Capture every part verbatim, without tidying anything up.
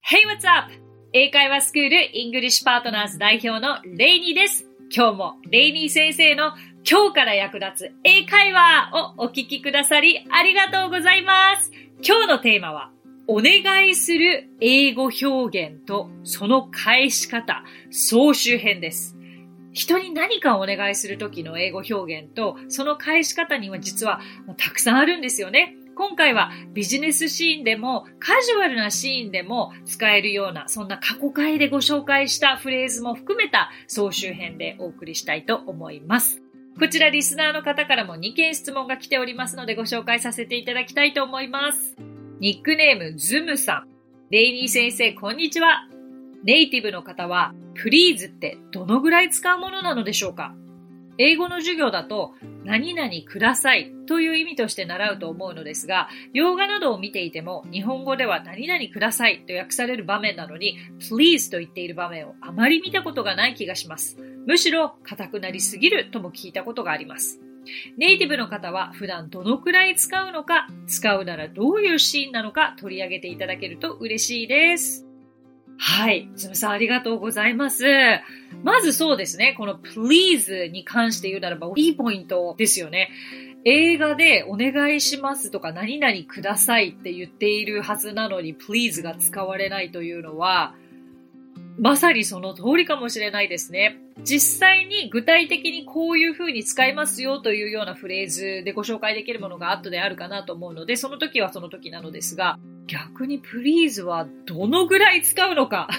Hey, what's up? 英会話スクールイングリッシュパートナーズ代表のレイニーです。今日もレイニー先生の今日から役立つ英会話をお聞きくださりありがとうございます。今日のテーマはお願いする英語表現とその返し方総集編です。人に何かをお願いするときの英語表現とその返し方には実はたくさんあるんですよね。今回はビジネスシーンでもカジュアルなシーンでも使えるようなそんな過去回でご紹介したフレーズも含めた総集編でお送りしたいと思います。こちらリスナーの方からもにけん質問が来ておりますのでご紹介させていただきたいと思います。ニックネームズムさん。レイニー先生こんにちは。ネイティブの方は please ってどのぐらい使うものなのでしょうか？英語の授業だと何々くださいという意味として習うと思うのですが、洋画などを見ていても日本語では何々くださいと訳される場面なのに please と言っている場面をあまり見たことがない気がします。むしろ硬くなりすぎるとも聞いたことがあります。ネイティブの方は普段どのくらい使うのか、使うならどういうシーンなのか取り上げていただけると嬉しいです。はい。ズムさんありがとうございます。まずそうですね。この please に関して言うならばいいポイントですよね。映画でお願いしますとか何々くださいって言っているはずなのに please が使われないというのはまさにその通りかもしれないですね。実際に具体的にこういう風に使いますよというようなフレーズでご紹介できるものが後であるかなと思うので、その時はその時なのですが、逆に please はどのぐらい使うのか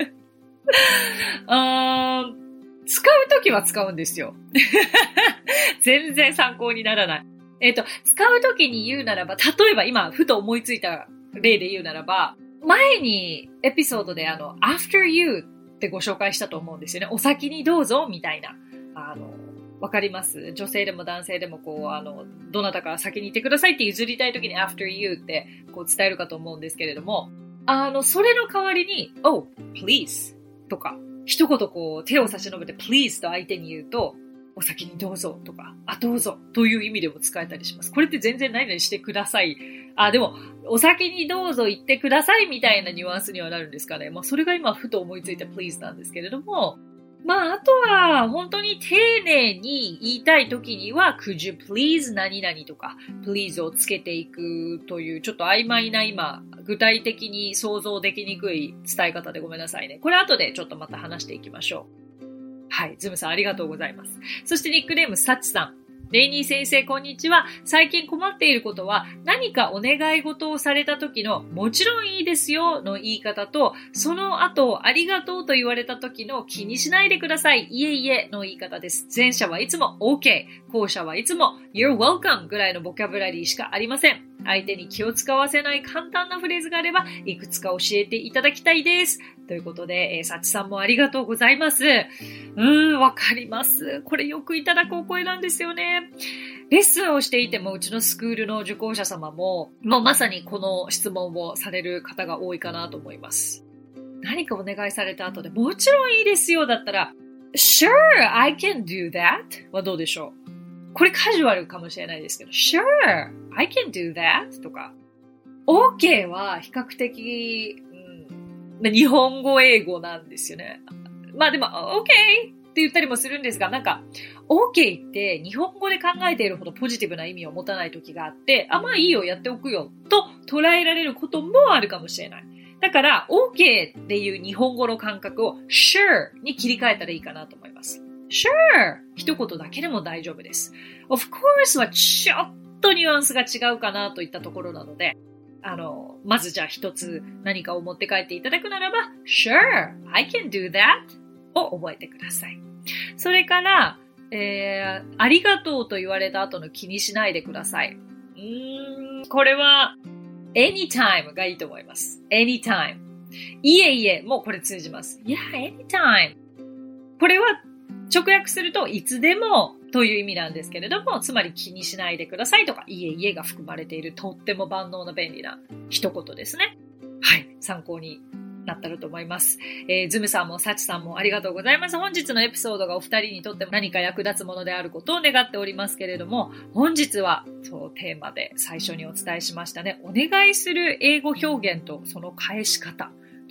あー使う時は使うんですよ全然参考にならない。えっと、使う時に言うならば、例えば今ふと思いついた例で言うならば、前にエピソードであの after you ってご紹介したと思うんですよね。お先にどうぞみたいな。あの、わかります？女性でも男性でもこう、あの、どなたか先に行ってくださいって譲りたい時に after you ってこう伝えるかと思うんですけれども、あの、それの代わりに oh, please とか、一言こう手を差し伸べて please と相手に言うと、お先にどうぞとか、あ、どうぞという意味でも使えたりします。これって全然何々してください。あ、でも、お先にどうぞ言ってくださいみたいなニュアンスにはなるんですかね。まあ、それが今ふと思いついた please なんですけれども、まあ、あとは、本当に丁寧に言いたい時には、could you please 何々とか、please をつけていくという、ちょっと曖昧な今、具体的に想像できにくい伝え方でごめんなさいね。これ後でちょっとまた話していきましょう。はい、ズムさんありがとうございます。そしてニックネームサッチさん。レイニー先生こんにちは。最近困っていることは何かお願い事をされた時のもちろんいいですよの言い方と、その後ありがとうと言われた時の気にしないでください、いえいえの言い方です。前者はいつも OK、後者はいつも You're welcome ぐらいのボキャブラリーしかありません。相手に気を使わせない簡単なフレーズがあればいくつか教えていただきたいです。ということで、えー、サチさんもありがとうございます。うーん、わかります。これよくいただくお声なんですよね。レッスンをしていてもうちのスクールの受講者様も、もうまさにこの質問をされる方が多いかなと思います。何かお願いされた後でもちろんいいですよだったら、Sure, I can do that はどうでしょう？これカジュアルかもしれないですけど、Sure, I can do that とか、OK は比較的、うん、日本語英語なんですよね。まあでも、OK って言ったりもするんですが、なんか、OK って日本語で考えているほどポジティブな意味を持たない時があって、あ、まあいいよ、やっておくよ、と捉えられることもあるかもしれない。だから、OK っていう日本語の感覚を Sure に切り替えたらいいかなと思います。Sure! 一言だけでも大丈夫です。Of course はちょっとニュアンスが違うかなといったところなので、あの、まずじゃあ一つ何かを持って帰っていただくならば、Sure! I can do that! を覚えてください。それから、えー、ありがとうと言われた後の気にしないでください。うーん、これは anytime がいいと思います。anytime。いえいえ、もうこれ通じます。Yeah, anytime。これは直訳するといつでもという意味なんですけれども、つまり気にしないでくださいとか、いえいえが含まれているとっても万能な便利な一言ですね。はい、参考になったらと思います。えー、ズムさんもサチさんもありがとうございます。本日のエピソードがお二人にとっても何か役立つものであることを願っておりますけれども、本日はそうテーマで最初にお伝えしましたね。お願いする英語表現とその返し方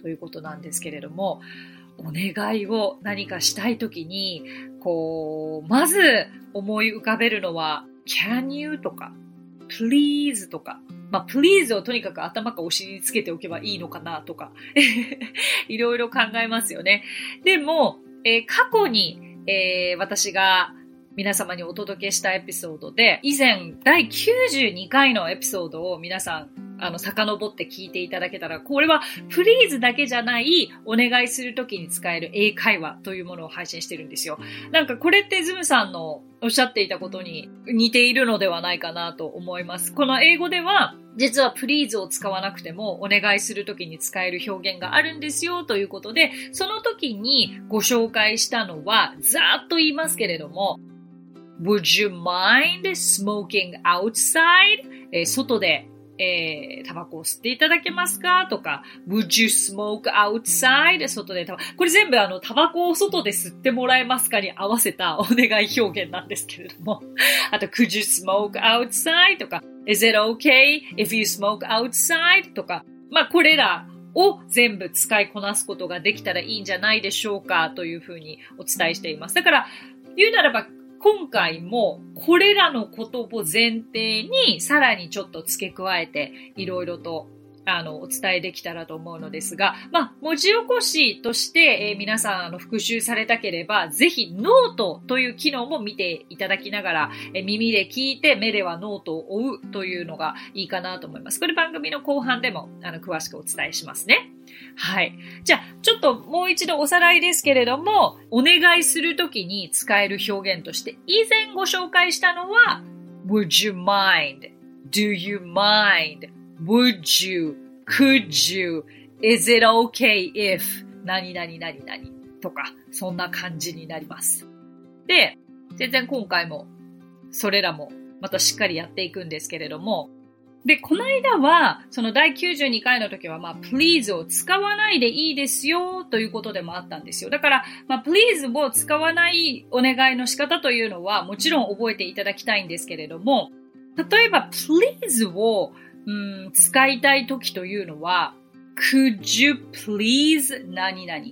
ということなんですけれども、お願いを何かしたいときに、こう、まず思い浮かべるのは、can you とか、please とか、まあ、please をとにかく頭かお尻につけておけばいいのかなとか、いろいろ考えますよね。でも、えー、過去に、えー、私が皆様にお届けしたエピソードで、以前だいきゅうじゅうにかいのエピソードを皆さん、あの、遡って聞いていただけたら、これは please だけじゃないお願いするときに使える英会話というものを配信してるんですよ。なんかこれってズムさんのおっしゃっていたことに似ているのではないかなと思います。この英語では、実は please を使わなくてもお願いするときに使える表現があるんですよということで、その時にご紹介したのは、ざーっと言いますけれども、Would you mind smoking outside? えー、外でえー、タバコを吸っていただけますかとか、Would you smoke outside? 外でタバコ。これ全部あの、タバコを外で吸ってもらえますかに合わせたお願い表現なんですけれども。あと、Could you smoke outside? とか、Is it okay if you smoke outside? とか、まあ、これらを全部使いこなすことができたらいいんじゃないでしょうかというふうにお伝えしています。だから、言うならば、今回もこれらのことを前提にさらにちょっと付け加えていろいろとあのお伝えできたらと思うのですが、まあ文字起こしとして、えー、皆さんあの復習されたければぜひノートという機能も見ていただきながら、えー、耳で聞いて目ではノートを追うというのがいいかなと思います。これ番組の後半でもあの詳しくお伝えしますね。はい。じゃあ、ちょっともう一度おさらいですけれども、お願いするときに使える表現として、以前ご紹介したのは、Would you mind? Do you mind? Would you? Could you? Is it okay if? 何々何々とか、そんな感じになります。で、全然今回も、それらもまたしっかりやっていくんですけれども、で、この間は、そのだいきゅうじゅうにかいの時は、まあ、please を使わないでいいですよ、ということでもあったんですよ。だから、まあ、please を使わないお願いの仕方というのは、もちろん覚えていただきたいんですけれども、例えば、please を、うん、使いたい時というのは、could you please 何々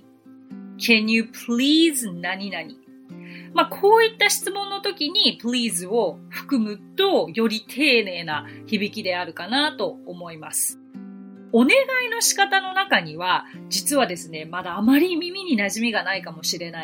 can you please 何々まあ、こういった質問の時に please を含むとより丁寧な響きであるかなと思います。お願いの仕方の中には実はですね、まだあまり耳に馴染みがないかもしれない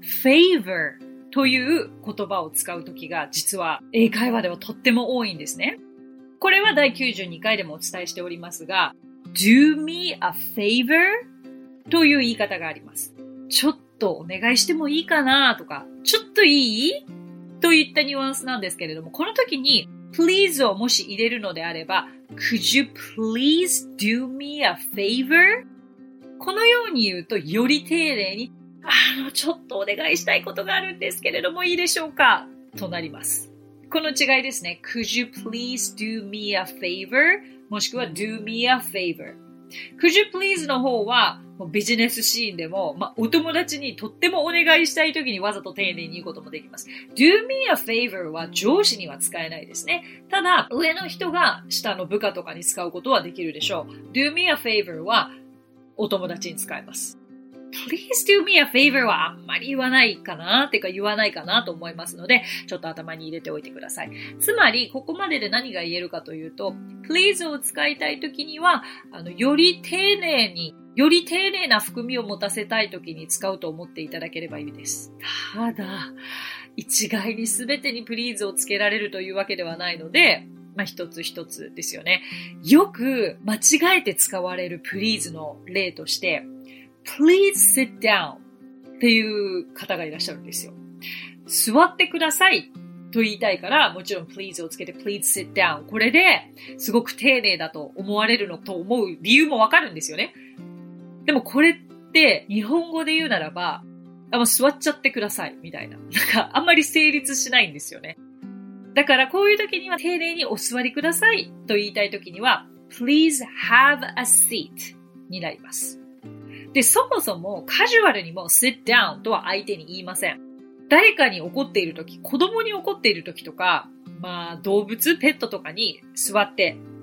favor という言葉を使う時が実は英会話ではとっても多いんですね。これはだいきゅうじゅうにかいでもお伝えしておりますが do me a favor という言い方があります。ちょっとお願いしてもいいかなとか、ちょっといいといったニュアンスなんですけれども、この時に please をもし入れるのであれば could you please do me a favor? このように言うとより丁寧にあのちょっとお願いしたいことがあるんですけれどもいいでしょうかとなります。この違いですね。could you please do me a favor? もしくは do me a favor?Could you please の方はもうビジネスシーンでも、まあ、お友達にとってもお願いしたい時にわざと丁寧に言うこともできます。do me a favor は上司には使えないですね。ただ、上の人が下の部下とかに使うことはできるでしょう。do me a favor はお友達に使えます。Please do me a favor はあんまり言わないかなっていうか言わないかなと思いますので、ちょっと頭に入れておいてください。つまり、ここまでで何が言えるかというと、please を使いたいときには、あの、より丁寧に、より丁寧な含みを持たせたいときに使うと思っていただければいいです。ただ、一概に全てに please をつけられるというわけではないので、まあ、一つ一つですよね。よく間違えて使われる please の例として、Please sit down っていう方がいらっしゃるんですよ。座ってくださいと言いたいから、もちろん please をつけて please sit down。これですごく丁寧だと思われるのと思う理由もわかるんですよね。でもこれって日本語で言うならば、あもう座っちゃってくださいみたいな。なんかあんまり成立しないんですよね。だからこういう時には丁寧にお座りくださいと言いたい時には please have a seat になります。で、そもそもカジュアルにも sit down とは相手に言いません。誰かに怒っているとき、子供に怒っているときとか、まあ動物、ペットとかに座って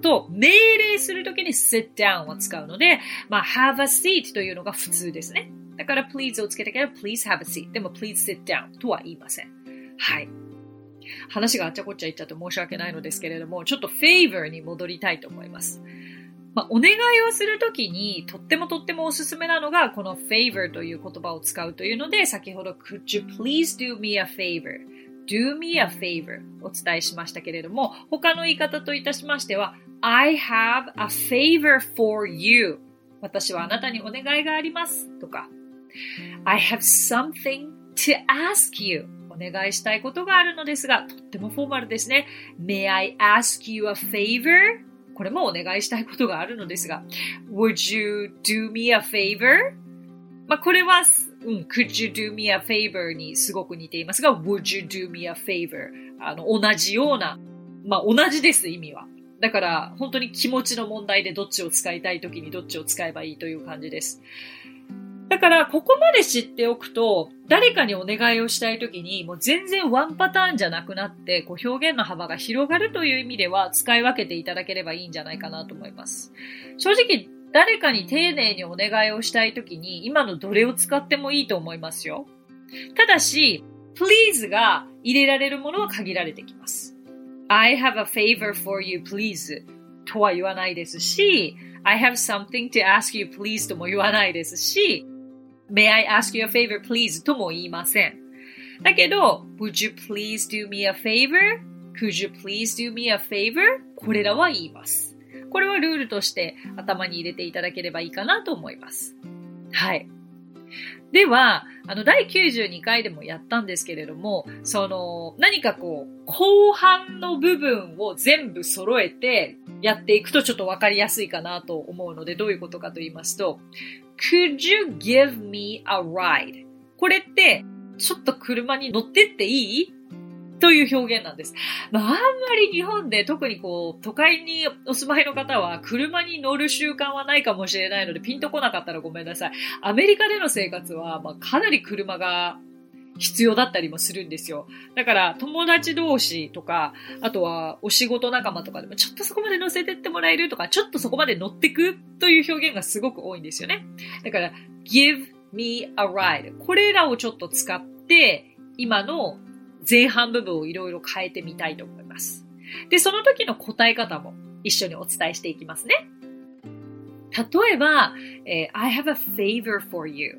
と、命令するときに sit down を使うので、まあ、have a seat というのが普通ですね。だから please をつけたければ please have a seat。でも please sit down とは言いません。はい。話があっちゃこっちゃ言っちゃって申し訳ないのですけれども、ちょっと favor に戻りたいと思います。まあ、お願いをするときに、とってもとってもおすすめなのが、この favor という言葉を使うというので、先ほど could you please do me a favor?do me a favor お伝えしましたけれども、他の言い方といたしましては、I have a favor for you 私はあなたにお願いがありますとか、I have something to ask you お願いしたいことがあるのですが、とってもフォーマルですね。May I ask you a favor? これもお願いしたいことがあるのですが、Would you do me a favor? まあ、これはうん、could you do me a favor にすごく似ていますが、would you do me a favor? あの、同じような、まあ、同じです、意味は。だから、本当に気持ちの問題でどっちを使いたいときにどっちを使えばいいという感じです。だから、ここまで知っておくと、誰かにお願いをしたいときに、もう全然ワンパターンじゃなくなって、こう表現の幅が広がるという意味では、使い分けていただければいいんじゃないかなと思います。正直、誰かに丁寧にお願いをしたいときに今のどれを使ってもいいと思いますよ。ただし、please が入れられるものは限られてきます。I have a favor for you, please とは言わないですし、I have something to ask you, please とも言わないですし、May I ask you a favor, please とも言いません。だけど、Would you please do me a favor? Could you please do me a favor? これらは言います。これはルールとして頭に入れていただければいいかなと思います。はい。では、あの、だいきゅうじゅうにかいでもやったんですけれども、その、何かこう、後半の部分を全部揃えてやっていくとちょっとわかりやすいかなと思うので、どういうことかと言いますと、Could you give me a ride? これって、ちょっと車に乗ってっていい？という表現なんです。まあ、あんまり日本で特にこう、都会にお住まいの方は車に乗る習慣はないかもしれないのでピンとこなかったらごめんなさい。アメリカでの生活は、まあ、かなり車が必要だったりもするんですよ。だから友達同士とか、あとはお仕事仲間とかでもちょっとそこまで乗せてってもらえるとか、ちょっとそこまで乗ってくという表現がすごく多いんですよね。だから give me a ride これらをちょっと使って今の前半部分をいろいろ変えてみたいと思います。で、その時の答え方も一緒にお伝えしていきますね。例えば、えー、I have a favor for you.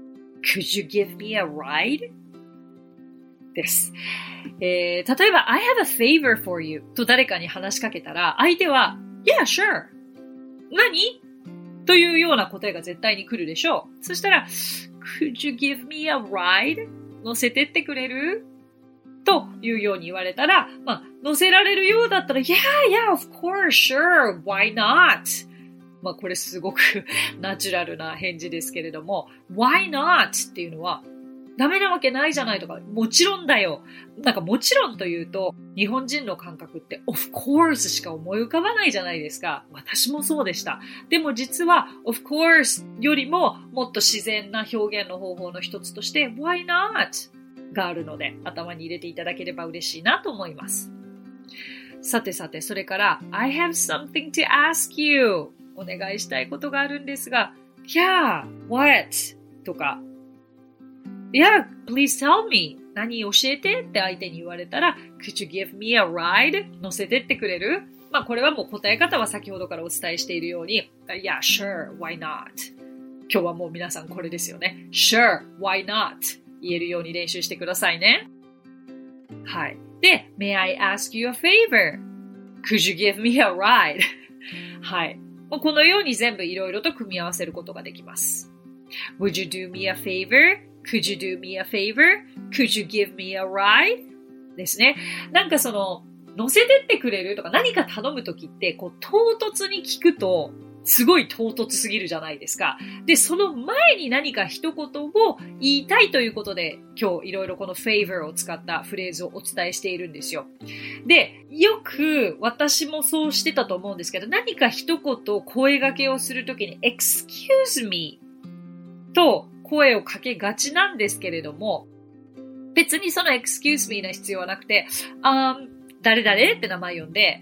Could you give me a ride? です。えー、例えば、I have a favor for you と誰かに話しかけたら、相手は、Yeah, sure. 何？というような答えが絶対に来るでしょう。そしたら、Could you give me a ride? 乗せてってくれる？というように言われたら、まあ、乗せられるようだったら、Yeah, yeah, of course, sure, why not? まあ、これすごくナチュラルな返事ですけれども、why not? っていうのは、ダメなわけないじゃないとか、もちろんだよ。なんかもちろんというと、日本人の感覚って、of course しか思い浮かばないじゃないですか。私もそうでした。でも実は、of course よりももっと自然な表現の方法の一つとして、why not? があるので頭に入れていただければ嬉しいなと思います。さてさて、それから I have something to ask you お願いしたいことがあるんですが Yeah, what? とか Yeah, please tell me 何教えてって相手に言われたら Could you give me a ride? 乗せてってくれる？まあこれはもう答え方は先ほどからお伝えしているように Yeah, sure, why not? 今日はもう皆さんこれですよね Sure, why not?言えるように練習してくださいね。はい。で、May I ask you a favor? Could you give me a ride? はい。もうこのように全部いろいろと組み合わせることができます。Would you do me a favor? Could you do me a favor? Could you give me a ride? ですね。なんかその、乗せてってくれるとか何か頼むときって、こう、唐突に聞くと、すごい唐突すぎるじゃないですか。で、その前に何か一言を言いたいということで、今日いろいろこの favor を使ったフレーズをお伝えしているんですよ。で、よく私もそうしてたと思うんですけど、何か一言声掛けをするときに excuse me と声をかけがちなんですけれども、別にその excuse me の必要はなくて、um, 誰々って名前呼んで、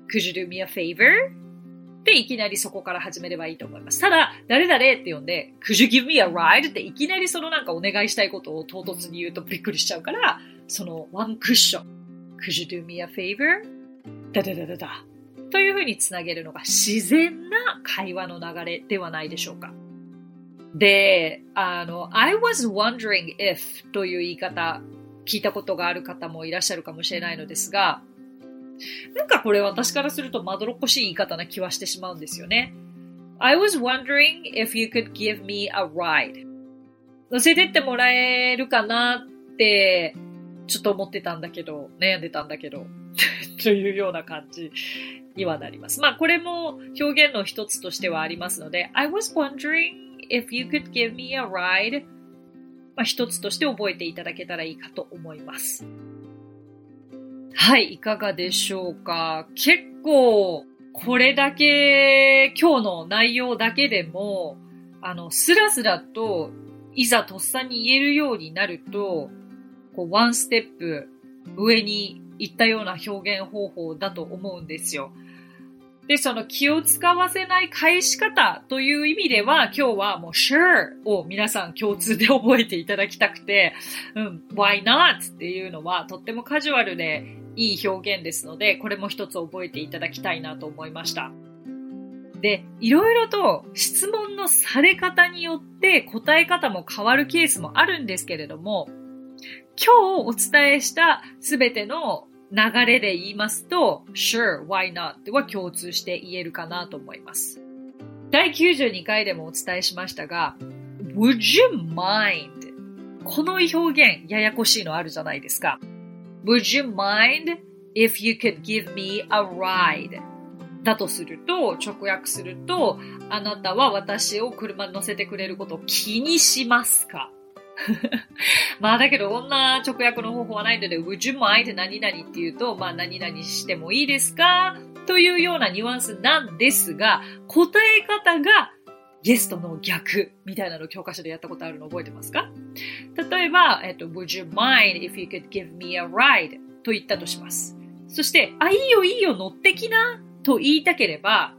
Could you do me a favor? で、いきなりそこから始めればいいと思います。ただ、誰々って呼んで、Could you give me a ride? っていきなりそのなんかお願いしたいことを唐突に言うとびっくりしちゃうから、そのワンクッション。Could you do me a favor? だだだだだ。というふうにつなげるのが自然な会話の流れではないでしょうか。で、あの、I was wondering if という言い方、聞いたことがある方もいらっしゃるかもしれないのですが、なんかこれ私からするとまどろっこしい言い方な気はしてしまうんですよね。I was wondering if you could give me a ride. 乗せてってもらえるかなってちょっと思ってたんだけど、悩んでたんだけど、というような感じにはなります。まあこれも表現の一つとしてはありますので、I was wondering if you could give me a ride. まあ一つとして覚えていただけたらいいかと思います。はい、いかがでしょうか。結構、これだけ、今日の内容だけでも、あの、スラスラと、いざとっさに言えるようになると、こう、ワンステップ上に行ったような表現方法だと思うんですよ。で、その気を使わせない返し方という意味では、今日はもう sure を皆さん共通で覚えていただきたくて、うん、why not っていうのはとってもカジュアルでいい表現ですので、これも一つ覚えていただきたいなと思いました。で、いろいろと質問のされ方によって答え方も変わるケースもあるんですけれども、今日お伝えしたすべての流れで言いますと、sure, why not は共通して言えるかなと思います。だいきゅうじゅうにかいでもお伝えしましたが、would you mind? この表現、ややこしいのあるじゃないですか。would you mind if you could give me a ride? だとすると、直訳すると、あなたは私を車に乗せてくれることを気にしますか？まあだけどこんな直訳の方法はないので Would you mind 何々っていうとまあ何々してもいいですかというようなニュアンスなんですが、答え方がゲストの逆みたいなのを教科書でやったことあるの覚えてますか？例えば、えっと、Would you mind if you could give me a ride と言ったとします。そしてあ、いいよいいよ乗ってきなと言いたければ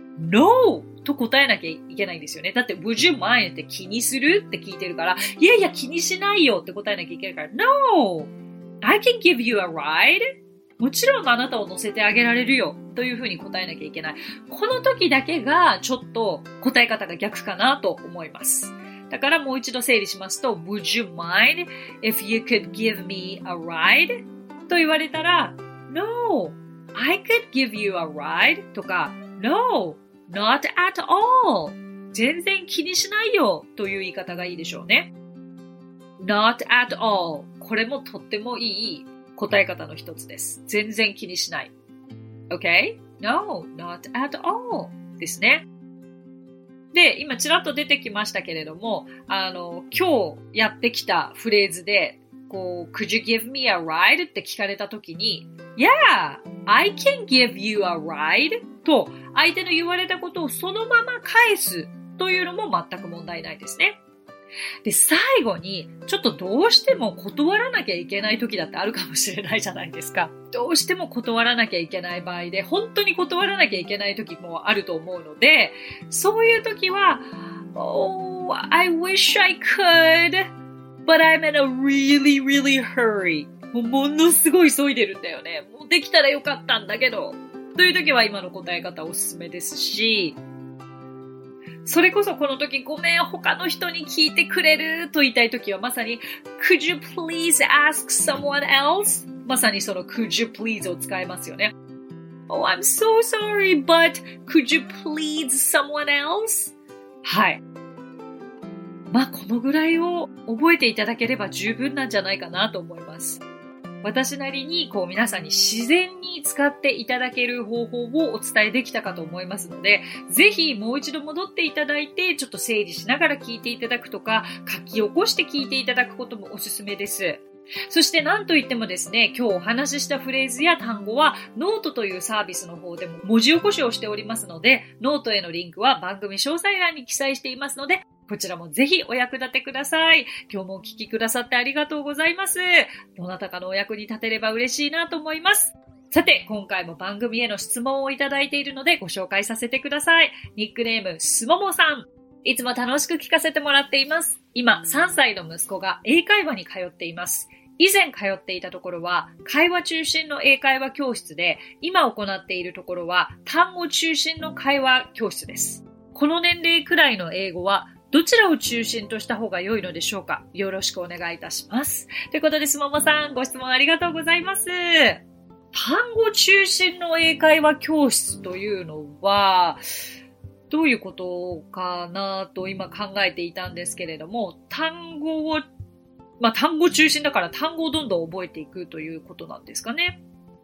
Noと答えなきゃいけないんですよね。だって Would you mind って気にするって聞いてるから、いやいや気にしないよって答えなきゃいけないから、No! I can give you a ride? もちろんあなたを乗せてあげられるよというふうに答えなきゃいけない。この時だけがちょっと答え方が逆かなと思います。だからもう一度整理しますと Would you mind if you could give me a ride? と言われたら No! I could give you a ride? とか No!Not at all. 全然気にしないよという言い方がいいでしょうね。Not at all. これもとってもいい答え方の一つです。全然気にしない。Okay? No, not at all. ですね。で、今ちらっと出てきましたけれども、あの、今日やってきたフレーズで、こう、Could you give me a ride? って聞かれたときに、Yeah, I can give you a ride. と、相手の言われたことをそのまま返すというのも全く問題ないですね。で、最後に、ちょっとどうしても断らなきゃいけない時だってあるかもしれないじゃないですか。どうしても断らなきゃいけない場合で、本当に断らなきゃいけない時もあると思うので、そういう時は、Oh, I wish I could, but I'm in a really, really hurry. もうものすごい急いでるんだよね。もうできたらよかったんだけど。という時は今の答え方おすすめですし、それこそこの時ごめん他の人に聞いてくれると言いたい時はまさに Could you please ask someone else? まさにその Could you please を使えますよね。Oh, I'm so sorry, but could you please someone else? はい。まあこのぐらいを覚えていただければ十分なんじゃないかなと思います。私なりにこう皆さんに自然に使っていただける方法をお伝えできたかと思いますので、ぜひもう一度戻っていただいてちょっと整理しながら聞いていただくとか書き起こして聞いていただくこともおすすめです。そして何といってもですね、今日お話ししたフレーズや単語はノートというサービスの方でも文字起こしをしておりますので、ノートへのリンクは番組詳細欄に記載していますので、こちらもぜひお役立てください。今日もお聞きくださってありがとうございます。どなたかのお役に立てれば嬉しいなと思います。 さて、今回も番組への質問をいただいているのでご紹介させてください。ニックネーム、すももさん。いつも楽しく聞かせてもらっています。今、さんさいの息子が英会話に通っています。以前通っていたところは、会話中心の英会話教室で、今行っているところは、単語中心の会話教室です。この年齢くらいの英語は、どちらを中心とした方が良いのでしょうか？よろしくお願いいたします。ということで、すももさん、ご質問ありがとうございます。単語中心の英会話教室というのは、どういうことかなと今考えていたんですけれども、単語を、まあ単語中心だから単語をどんどん覚えていくということなんですかね。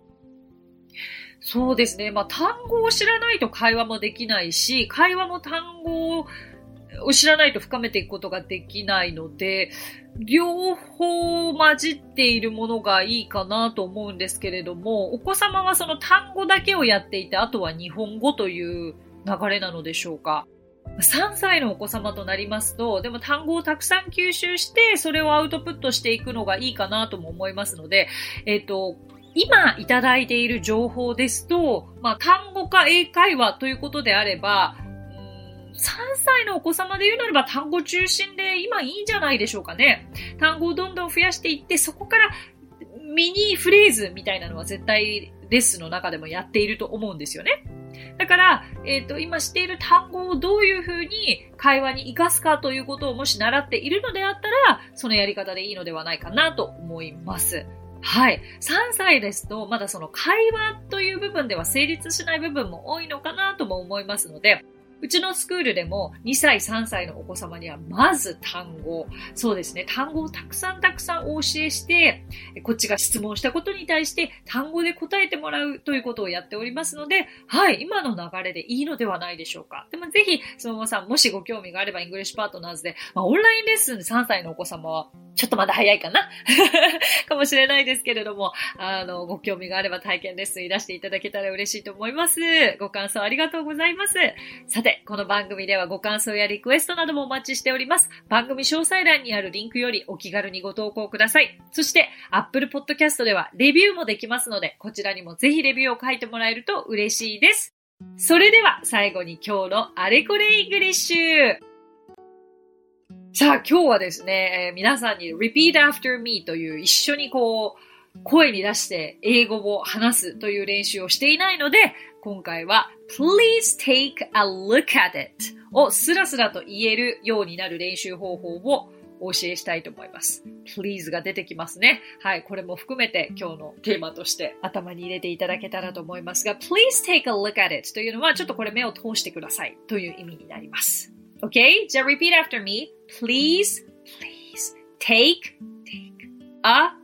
そうですね。まあ単語を知らないと会話もできないし、会話も単語を知らないと深めていくことができないので、両方混じっているものがいいかなと思うんですけれども、お子様はその単語だけをやっていて、あとは日本語という流れなのでしょうか。さんさいのお子様となりますと、でも単語をたくさん吸収して、それをアウトプットしていくのがいいかなとも思いますので、えっと、今いただいている情報ですと、まあ単語か英会話ということであれば、さんさいのお子様で言うならば単語中心で今いいんじゃないでしょうかね。単語をどんどん増やしていって、そこからミニフレーズみたいなのは絶対レッスンの中でもやっていると思うんですよね。だから、えっと、今知っている単語をどういうふうに会話に活かすかということをもし習っているのであったら、そのやり方でいいのではないかなと思います。はい。さんさいですと、まだその会話という部分では成立しない部分も多いのかなとも思いますので、うちのスクールでもにさい、さんさいのお子様にはまず単語、そうですね、単語をたくさんたくさんお教えして、こっちが質問したことに対して単語で答えてもらうということをやっておりますので、はい、今の流れでいいのではないでしょうか。でもぜひ、そのままさん、もしご興味があればイングリッシュパートナーズで、まあ、オンラインレッスンでさんさいのお子様は、ちょっとまだ早いかなかもしれないですけれども、あの、ご興味があれば体験レッスンに出していただけたら嬉しいと思います。ご感想ありがとうございます。さて、この番組ではご感想やリクエストなどもお待ちしております。番組詳細欄にあるリンクよりお気軽にご投稿ください。そして、Apple Podcast ではレビューもできますので、こちらにもぜひレビューを書いてもらえると嬉しいです。それでは最後に今日のあれこれイングリッシュ。さあ今日はですね、えー、皆さんに Repeat After Me という一緒にこう声に出して英語を話すという練習をしていないので、今回は Please take a look at it をスラスラと言えるようになる練習方法をお教えしたいと思います。Please が出てきますね。はい、これも含めて今日のテーマとして頭に入れていただけたらと思いますが、Please take a look at it というのはちょっとこれ目を通してくださいという意味になります。Okay? じゃあ repeat after me. Please, please take, take a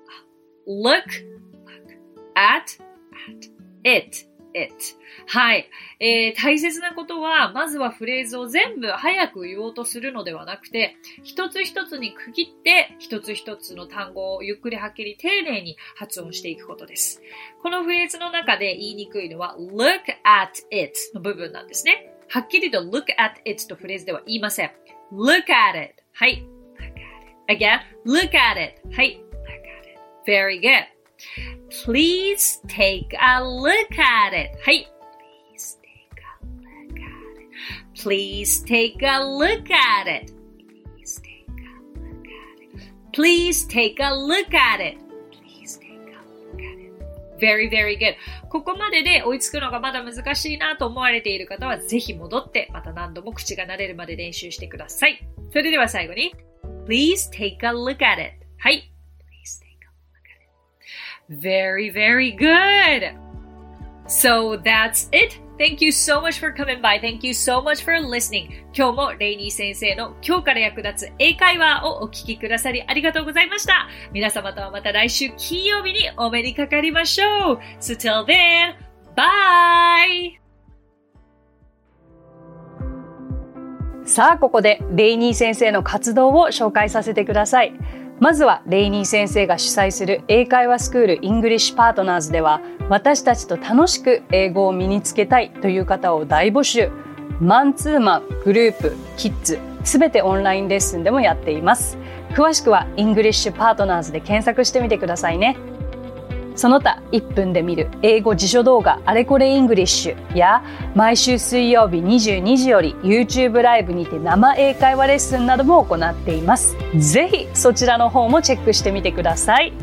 look, look at, at it, it. はい、えー。大切なことは、まずはフレーズを全部早く言おうとするのではなくて、一つ一つに区切って、一つ一つの単語をゆっくりはっきり丁寧に発音していくことです。このフレーズの中で言いにくいのは look at it の部分なんですね。はっきりと look at it とフレーズでは言いません。look at it. はい。look at it. Again, look at it. はい。look at it. Very good. Please take a look at it. はい。Please take a look at it. Please take a look at it. Please take a look at it. Please take a look at it. Very, very good. ここまでで追いつくのがまだ難しいなと思われている方はぜひ戻ってまた何度も口が慣れるまで練習してください。それでは最後に Please take a look at it. はい。Please take a look at it. Very, very good. So that's it.Thank you so much for coming by. Thank you so much for listening. 今日もレイニー先生の今日から役立つ英会話をお聞きくださりありがとうございました。皆様とはまた来週金曜日にお目にかかりましょう。So till then, bye! さあ、ここでレイニー先生の活動を紹介させてください。まずはレイニー先生が主催する英会話スクールイングリッシュパートナーズでは、私たちと楽しく英語を身につけたいという方を大募集。マンツーマン、グループ、キッズ、すべてオンラインレッスンでもやっています。詳しくはイングリッシュパートナーズで検索してみてくださいね。 その他いっぷんで見る英語辞書動画あれこれイングリッシュや毎週水曜日にじゅうにじより YouTube ライブにて生英会話レッスンなども行っています。ぜひそちらの方もチェックしてみてください。